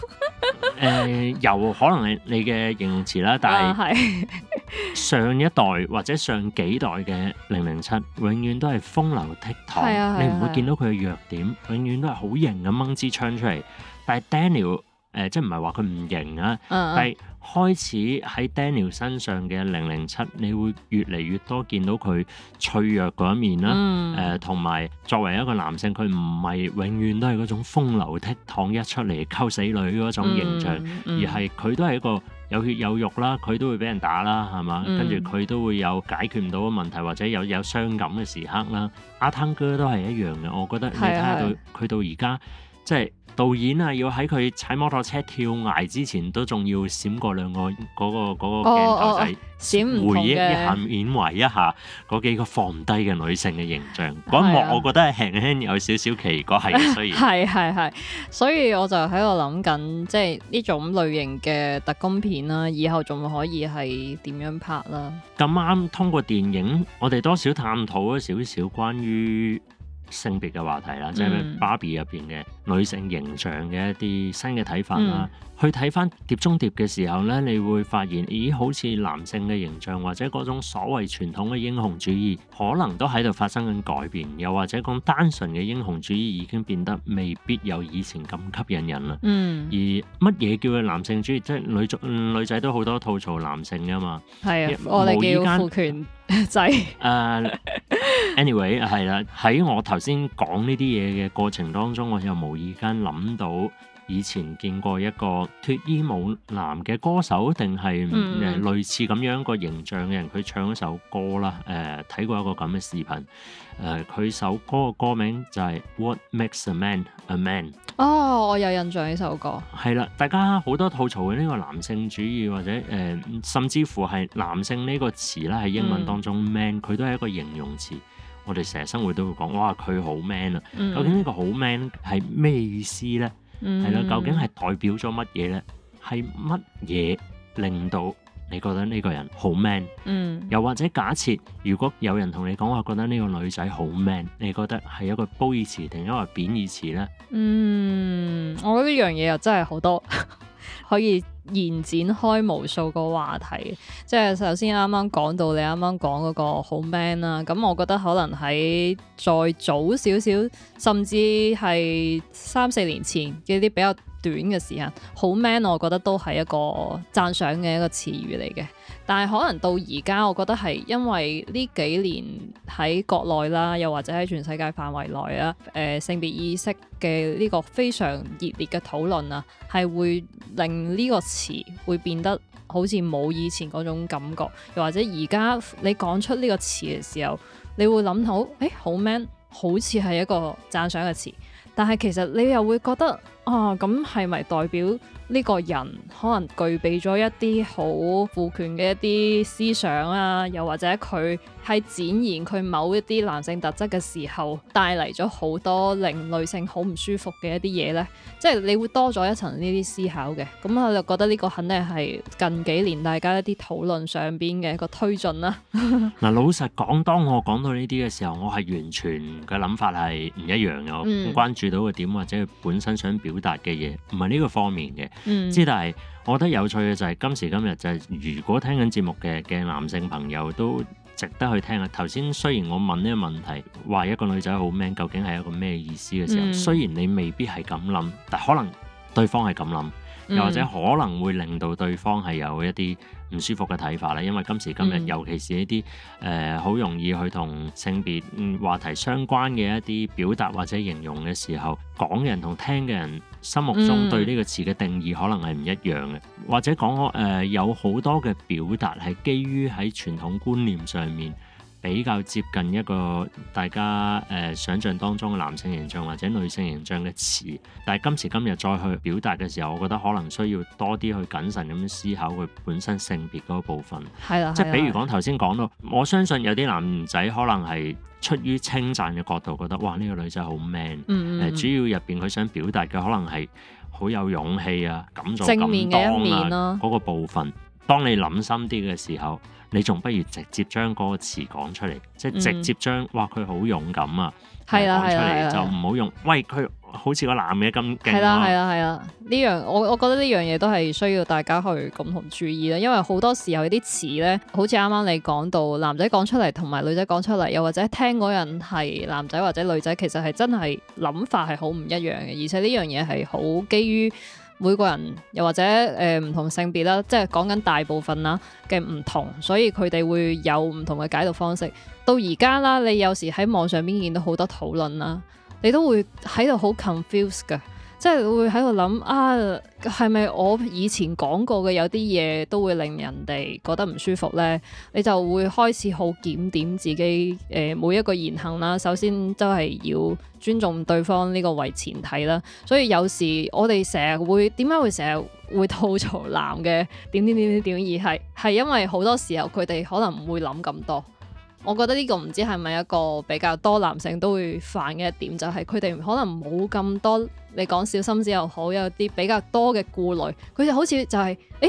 S1: 油可能係你嘅形容詞啦，但係上一代或者上幾代嘅007永遠都係風流倜儻，你唔會見到佢嘅弱點，永遠都係好型咁掹支槍出嚟。但係 Daniel 即係唔係話佢唔型啊，但係開始喺 Daniel 身上嘅007，你會越嚟越多見到佢脆弱嗰一面啦。同埋作為一個男性，佢唔係永遠都係嗰種風流倜儻一出嚟溝死女嗰種形象，而係佢都係一個有血有肉啦，佢都會俾人打啦，係嘛？跟住佢都會有解決唔到嘅問題，或者有傷感嘅時刻啦。阿湯哥都係一樣嘅，我覺得你睇下佢到而家即係。導演啊，要喺佢踩摩托車跳崖之前，都仲要閃過兩個嗰個鏡頭仔，回憶一下、緬懷一下嗰幾個放唔低嘅女性嘅形象。嗰一幕我覺得係輕輕有少少奇怪嘅，雖然
S2: 係，所以我就喺度諗緊，即係呢種類型嘅特工片啦，以後仲可以係點樣拍啦？
S1: 咁啱通過電影，我哋多少探討咗少少關於性別嘅話題啦，即係芭比入邊嘅女性形象嘅一啲新嘅睇法啦。去睇翻碟中諜嘅時候咧，你會發現，咦，好似男性嘅形象或者嗰種所謂傳統嘅英雄主義，可能都喺度發生緊改變，又或者講單純嘅英雄主義已經變得未必有以前咁吸引人啦。而乜嘢叫做男性主義？即係女仔都好多吐槽男性噶嘛。
S2: 係啊，我哋叫父權制。
S1: Anyway 係啦，喺我頭先講呢啲嘢嘅過程當中，我又無意間諗到以前見過一個脫衣舞男嘅歌手，定係類似咁樣個形象嘅人，佢唱一首歌啦。睇過一個咁嘅視頻。佢首歌嘅歌名就係 What Makes a Man a Man。
S2: 哦，我有印象呢首歌。係
S1: 啦，大家好多吐槽嘅呢個男性主義，或者甚至乎係男性呢個詞啦，喺英文當中 man 佢都係一個形容詞。我哋成日生活都會講，哇，佢好 man 啊！究竟呢個好 man 係咩意思咧？係啦，究竟係代表咗乜嘢咧？係乜嘢令到你覺得呢個人好 man？又或者假設如果有人同你講話，覺得呢個女仔好 man， 你覺得係一個褒義詞定一個貶義詞咧？
S2: 我覺得呢樣嘢又真係好多可以延展開無數個話題。即係首先啱啱講到你啱啱講嗰個好 man 啦，咁我覺得可能喺再早少少，甚至係3-4年前嘅啲比較短嘅時間，好 man 我覺得都係一個讚賞嘅一個詞語嚟嘅。但係可能到而家，我覺得係因為呢幾年喺國內啦，又或者喺全世界範圍內啦，性別意識嘅呢個非常熱烈嘅討論啊，係會令呢個詞會變得好似冇以前嗰種感覺，又或者而家你講出呢個詞嘅時候，你會諗到，好 man 好似係一個讚賞嘅詞，但係其實你又會覺得咁係咪代表呢個人可能具備咗一啲好父權嘅一啲思想啊，又或者佢喺展現佢某一啲男性特質嘅時候，帶嚟咗好多令女性好唔舒服嘅一啲嘢呢？即係你會多咗一層呢啲思考嘅。咁我就覺得呢個肯定係近幾年大家一啲討論上邊嘅一個推進啦。
S1: 嗱，老實講，當我講到呢啲嘅時候，我係完全嘅諗法係唔一樣嘅。我關注到嘅點或者佢本身想表達嘅嘢，唔係呢個方面嘅。但係我覺得有趣嘅就係今時今日就係，如果聽緊節目嘅男性朋友都值得去聽啊！頭先雖然我問呢個問題，話一個女仔好 man 究竟係一個咩意思嘅時候，雖然你未必係咁諗，但可能對方係咁諗，又或者可能會令到對方係有一啲唔舒服嘅睇法啦。因為今時今日，尤其是呢啲好容易去同性別話題相關嘅一啲表達或者形容嘅時候，講人同聽嘅人心目中對呢個詞嘅定義可能係唔一樣嘅，或者講有好多嘅表達係基於喺傳統觀念上面比較接近一個大家想像當中嘅男性形象或者女性形象嘅詞，但係今時今日再去表達嘅時候，我覺得可能需要多啲去謹慎咁樣思考佢本身性別嗰個部分。係啦，即係比如講頭先講到，我相信有啲男仔可能係出於稱讚嘅角度，覺得哇呢個女仔好 man。主要入邊佢想表達嘅可能係好有勇氣啊，敢做敢當啊，正面嘅一面咯，嗰個部分。當你諗深啲嘅時候，你仲不如直接將嗰個詞講出嚟，即係直接將哇佢好勇敢啊，講出嚟，就唔好用喂佢好似個男嘅咁勁。係啦，
S2: 呢樣我覺得呢樣嘢都係需要大家去共同注意啦，因為好多時候有啲詞咧，好似啱啱你講到男仔講出嚟同埋女仔講出嚟，又或者聽嗰人係男仔或者女仔，其實係真係諗法係好唔一樣嘅，而且呢樣嘢係好基於每個人又或者唔同性別啦，即係講緊大部分啦嘅唔同，所以佢哋會有唔同嘅解讀方式。到而家啦，你有時喺網上邊見到好多討論啦，你都會喺度好 confused 㗎，即係會喺度諗係咪我以前講過嘅有啲嘢都會令人哋覺得唔舒服呢？你就會開始好檢點自己每一個言行啦。首先都係要尊重對方呢個為前提啦。所以有時我哋成日會點解會成日會吐槽男嘅點，而係因為好多時候佢哋可能唔會諗咁多。我覺得呢個唔知係咪一個比較多男性都會犯嘅一點，就係佢哋可能冇咁多，你講小心思又好，有啲比較多嘅顧慮，佢就好似就係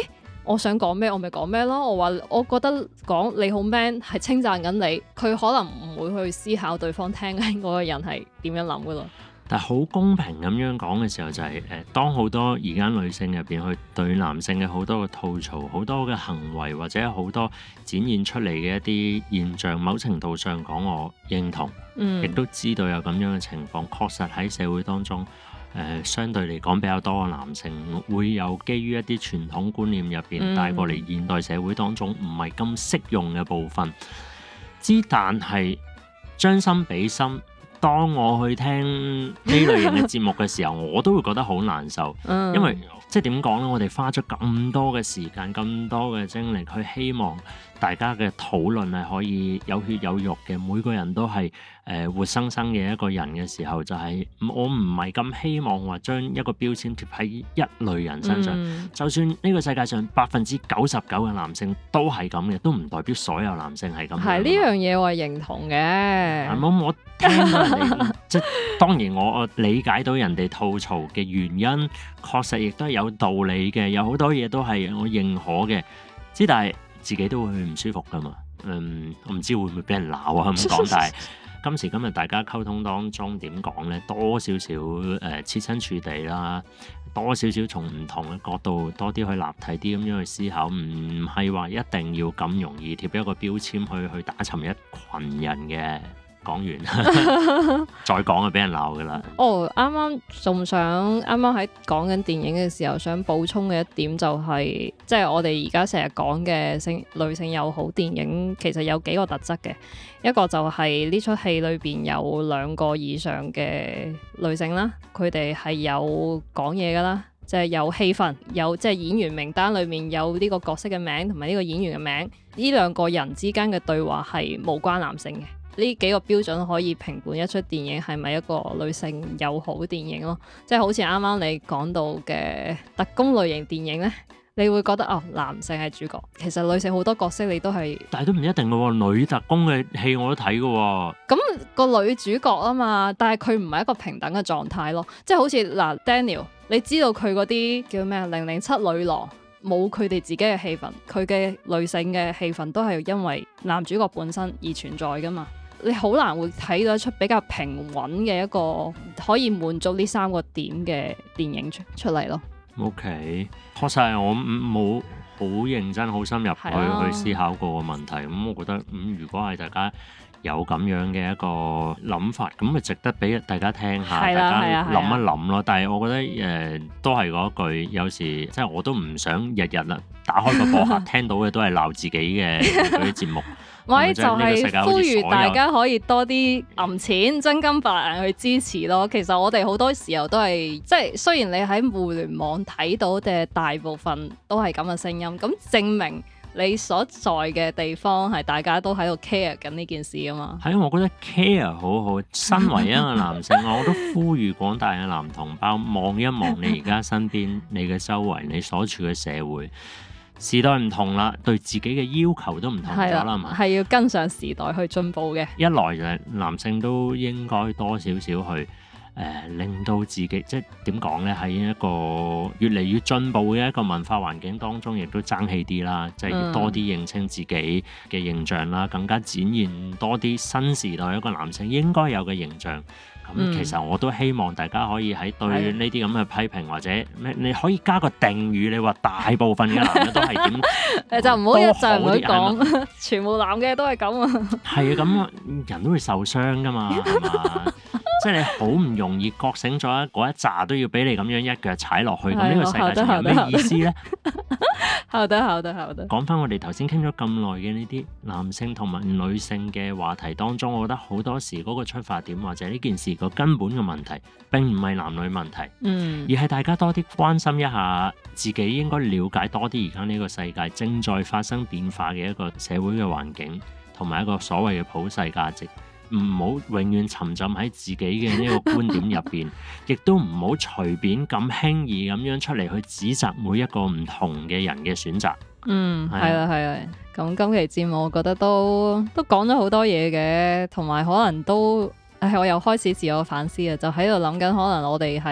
S2: 我想講咩我咪講咩咯。我話我覺得講你好 man 係稱讚緊你，佢可能唔會去思考對方聽緊嗰個人係點樣諗噶咯。
S1: 但係好公平咁樣講嘅時候就係當好多而家女性入邊去對男性嘅好多嘅吐槽、好多嘅行為或者好多展現出嚟嘅一啲現象，某程度上講我認同，亦都知道有咁樣嘅情況，確實喺社會當中相對嚟講比較多嘅男性會有基於一啲傳統觀念入邊帶過嚟現代社會當中唔係咁適用嘅部分。但係將心比心，當我去聽呢類型嘅節目嘅時候，我都會覺得好難受，因為即係點講呢？我哋花咗咁多嘅時間、咁多嘅精力去希望大家嘅討論係可以有血有肉嘅，每個人都係活生生嘅一個人嘅時候，就係我唔係咁希望話將一個標籤貼喺一類人身上。就算呢個世界上99%嘅男性都係咁嘅，都唔代表所有男性係咁。
S2: 係呢樣嘢我係認同嘅。
S1: 我聽到人哋即係當然我理解到人哋吐槽嘅原因，確實亦都係有道理嘅，有好多嘢都係我認可嘅。但係自己都會唔舒服㗎嘛。我唔知會唔會俾人鬧啊咁講，但係今時今日大家溝通當中點講呢？多少少設身處地啦，多少少從唔同嘅角度多啲去立體啲咁樣去思考，唔係話一定要咁容易貼一個標籤去打沉一群人嘅。講完再講就俾人鬧㗎啦。啱
S2: 啱仲想啱啱喺講緊電影嘅時候，想補充嘅一點就係，即係我哋而家成日講嘅女性友好電影，其實有幾個特質嘅。一個就係呢出戲裏邊有2個以上嘅女性啦，佢哋係有講嘢㗎啦，即係有戲份，有即係演員名單裏面有呢個角色嘅名同埋呢個演員嘅名，呢2個人之間嘅對話係無關男性嘅。呢幾個標準可以評判一出電影係咪一個女性友好電影咯，即係好似啱啱你講到嘅特工類型電影呢，你會覺得男性係主角，其實女性好多角色你都係，
S1: 但係都唔一定嘅喎，女特工嘅戲我都睇嘅喎。
S2: 咁個女主角啊嘛，但係佢唔係一個平等嘅狀態咯，即係好似Daniel， 你知道佢嗰啲叫咩007女郎。冇佢哋自己嘅戲份，佢嘅女性嘅戲份都係因為男主角本身而存在㗎嘛。你好難會睇到一出比較平穩嘅一個可以滿足呢3個點嘅電影出嚟咯。
S1: OK， 確實係我冇好認真、好深入去思考過個問題。咁我覺得如果係大家有咁樣嘅一個諗法，咁咪值得俾大家聽下，大家諗一諗咯。但係我覺得都係嗰句，有時即係我都唔想日日啦，打開個播客聽到嘅都係鬧自己嘅嗰啲節目。
S2: 咪就係呼籲大家可以多啲揞錢真金白銀去支持咯。其實我哋好多時候都係即係雖然你喺互聯網睇到嘅大部分都係咁嘅聲音，咁證明你所在嘅地方係大家都喺度 care 緊呢件事啊嘛。
S1: 係，我覺得 care 好好。身為一個男性，我都呼籲廣大嘅男同胞望一望你而家身邊、你嘅周圍、你所處嘅社會。時代唔同啦，對自己嘅要求都唔同咗啦嘛，
S2: 係要跟上時代去進步嘅。
S1: 一來就係男性都應該多少少去令到自己即係點講呢？喺一個越嚟越進步嘅一個文化環境當中，亦都爭氣啲啦，即係要多啲認清自己嘅形象啦，更加展現多啲新時代一個男性應該有嘅形象。咁其實我都希望大家可以喺對呢啲咁嘅批評或者咩，你可以加個定語，你話大部分嘅男嘅都係點？
S2: 就唔好一陣唔好講，全部男嘅都係咁啊！
S1: 係啊，咁人都會受傷噶嘛，係嘛？即係你好唔容易覺醒咗嗰一紮都要俾你咁樣一腳踩落去，咁呢個世界上有咩意思咧？
S2: 好的。
S1: 講翻我哋頭先傾咗咁耐嘅呢啲男性同埋女性嘅話題當中，我覺得好多時嗰個出發點或者呢件事個根本嘅問題並唔係男女問題，而係大家多啲關心一下自己，應該了解多啲而家呢個世界正在發生變化嘅一個社會嘅環境同埋一個所謂嘅普世價值。唔好永遠沉浸喺自己嘅呢個觀點入邊，亦都唔好隨便咁輕易咁樣出嚟去指責每一個唔同嘅人嘅選擇。
S2: 係啦。咁今期節目我覺得都講咗好多嘢嘅，同埋可能都我又開始自我反思啊，就喺度諗緊可能我哋喺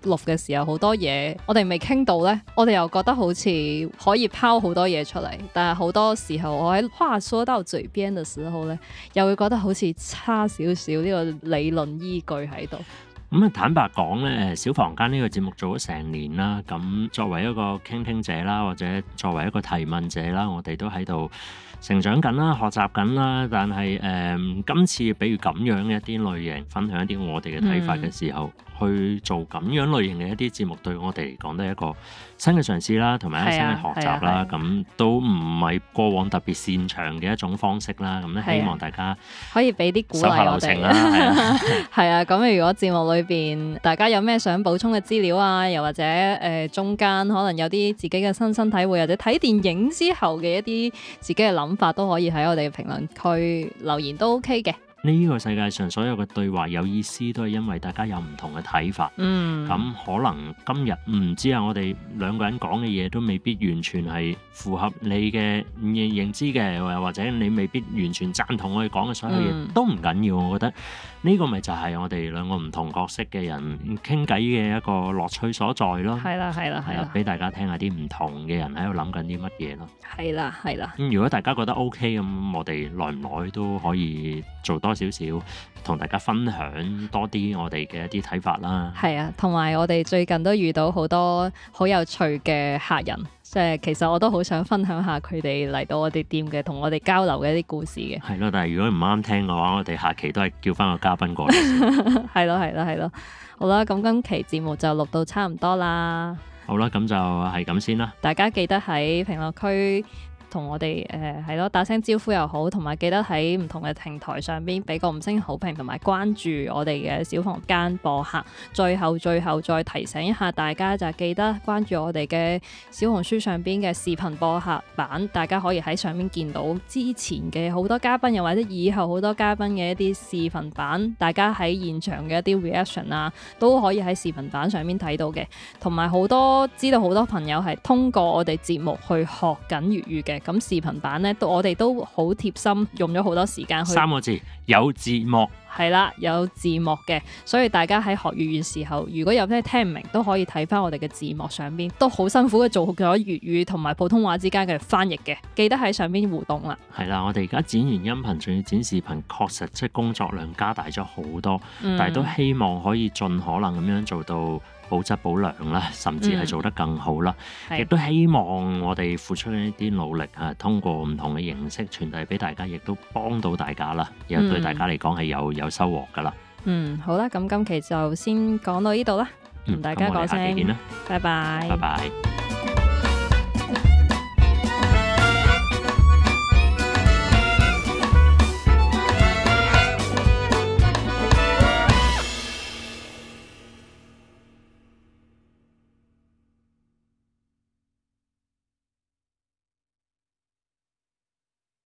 S2: 錄嘅時候好多嘢我哋未傾到呢，我哋又覺得好似可以拋好多嘢出嚟，但係好多時候我喺話說到嘴邊嘅時候呢，又會覺得好似差少少呢個理論依據喺度。
S1: 咁坦白講咧，小房間呢個節目做咗成年啦，咁作為一個傾聽者啦，或者作為一個提問者啦，我哋都喺度成長緊啦、學習緊啦。但係今次比如咁樣嘅一啲類型，分享一啲我哋嘅睇法嘅時候，去做咁樣類型嘅一啲節目，對我哋嚟講都係一個新嘅嘗試啦，同埋一個新嘅學習啦。咁都唔係過往特別擅長嘅一種方式啦。咁咧希望大家
S2: 可以俾啲鼓勵我哋啦。係啊，咁如果節目裏邊大家有咩想補充嘅資料啊，又或者中間可能有啲自己嘅親身體會，或者睇電影之後嘅一啲自己嘅諗法，都可以喺我哋嘅評論區留言都 OK 嘅。
S1: 呢個世界上所有嘅對話有意思，都係因為大家有唔同嘅睇法。咁可能今日唔知啊，我哋兩個人講嘅嘢都未必完全係符合你嘅認知嘅，或者你未必完全贊同我哋講嘅所有嘢，都唔緊要。我覺得呢個咪就係我哋兩個唔同角色嘅人傾偈嘅一個樂趣所在咯。係啦，俾大家聽下啲唔同嘅人喺度諗緊啲乜嘢咯。係啦。如果大家覺得 OK 咁，我哋耐唔耐都可以做多少少，同大家分享多啲我哋嘅一啲睇法啦。係啊，同埋我哋最近都遇到好多好有趣嘅客人，即係其實我都好想分享下佢哋嚟到我哋店嘅，同我哋交流嘅一啲故事嘅。係咯，但係如果唔啱聽嘅話，我哋下期都係叫翻個嘉賓過嚟。係咯。好啦，咁今期節目就錄到差唔多啦。好啦，咁就係咁先啦。大家記得喺評論區同我哋打聲招呼又好，同埋記得喺唔同嘅平台上邊俾個5星好評，同埋關注我哋嘅小房間播客。最後再提醒一下大家，就係記得關注我哋嘅小紅書上邊嘅視頻播客版，大家可以喺上面見到之前嘅好多嘉賓，又或者以後好多嘉賓嘅一啲視頻版，大家喺現場嘅一啲 reaction 啊，都可以喺視頻版上面睇到嘅。同埋知道好多朋友係通過我哋節目去學緊粵語嘅。咁視頻版咧，我哋都好貼心，用咗好多時間去。3個字，有字幕。係啦，有字幕嘅，所以大家喺學粵語嘅時候，如果有咩聽唔明，都可以睇翻我哋嘅字幕上邊，都好辛苦嘅做咗粵語同埋普通話之間嘅翻譯嘅，記得喺上邊互動啦。係啦，我哋而家剪完音頻，仲要剪視頻，確實即係工作量加大咗好多，但係都希望可以盡可能咁樣做到保質保量啦，甚至係做得更好啦。亦都希望我哋付出一啲努力啊，通過唔同嘅形式傳遞俾大家，亦都幫到大家啦，又對大家嚟講係有收穫噶啦。好啦，咁今期就先講到呢度啦，同大家講聲，拜拜。